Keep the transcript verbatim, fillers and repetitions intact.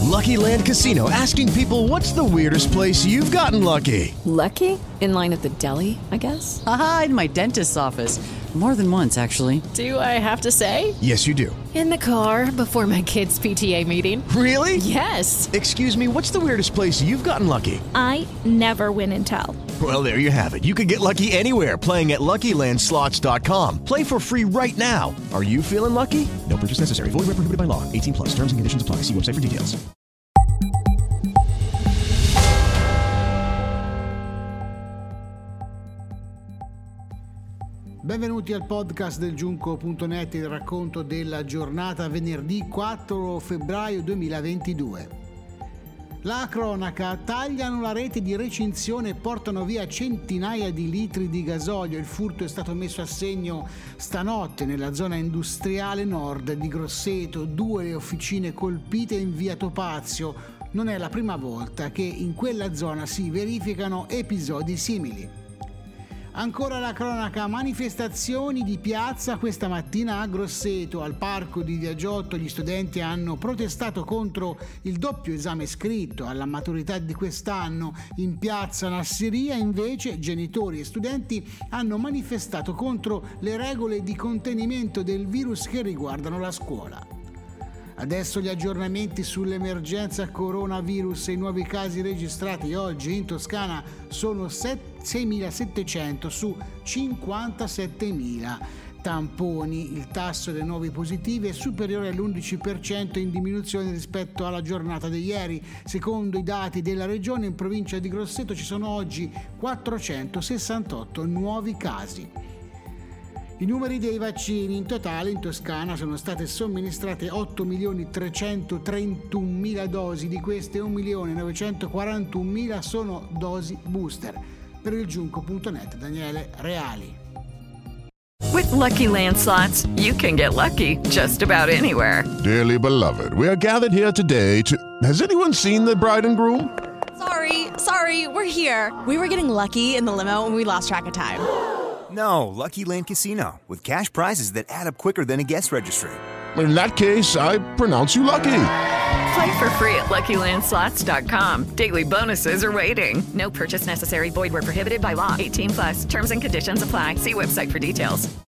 Lucky Land Casino, asking people, what's the weirdest place you've gotten lucky? Lucky? In line at the deli, I guess? Aha, in my dentist's office. More than once, actually. Do I have to say? Yes, you do. In the car before my kids' P T A meeting. Really? Yes. Excuse me, what's the weirdest place you've gotten lucky? I never win and tell. Well, there you have it. You can get lucky anywhere, playing at Lucky Land Slots dot com. Play for free right now. Are you feeling lucky? No purchase necessary. Void where prohibited by law. eighteen plus. Terms and conditions apply. See website for details. Benvenuti al podcast del giunco punto net, il racconto della giornata venerdì quattro febbraio duemilaventidue. La cronaca: tagliano la rete di recinzione e portano via centinaia di litri di gasolio. Il furto è stato messo a segno stanotte nella zona industriale nord di Grosseto, due le officine colpite in via Topazio. Non è la prima volta che in quella zona si verificano episodi simili. Ancora la cronaca: manifestazioni di piazza questa mattina a Grosseto. Al parco di Via Giotto gli studenti hanno protestato contro il doppio esame scritto alla maturità di quest'anno. In piazza Nassiria invece genitori e studenti hanno manifestato contro le regole di contenimento del virus che riguardano la scuola. Adesso gli aggiornamenti sull'emergenza coronavirus. I nuovi casi registrati oggi in Toscana sono seimilasettecento su cinquantasettemila tamponi. Il tasso dei nuovi positivi è superiore all'undici per cento, in diminuzione rispetto alla giornata di ieri. Secondo i dati della regione, in provincia di Grosseto ci sono oggi quattrocentosessantotto nuovi casi. I numeri dei vaccini: in totale in Toscana sono state somministrate otto milioni trecentotrentunomila dosi, di queste un milione novecentoquarantunomila sono dosi booster. Per il giunco punto net, Daniele Reali. With Lucky Land Slots, you can get lucky just about anywhere. Dearly beloved, we are gathered here today to... Has anyone seen the bride and groom? Sorry, sorry, we're here. We were getting lucky in the limo and we lost track of time. No, Lucky Land Casino, with cash prizes that add up quicker than a guest registry. In that case, I pronounce you lucky. Play for free at Lucky Land Slots dot com. Daily bonuses are waiting. No purchase necessary. Void where prohibited by law. eighteen plus. Terms and conditions apply. See website for details.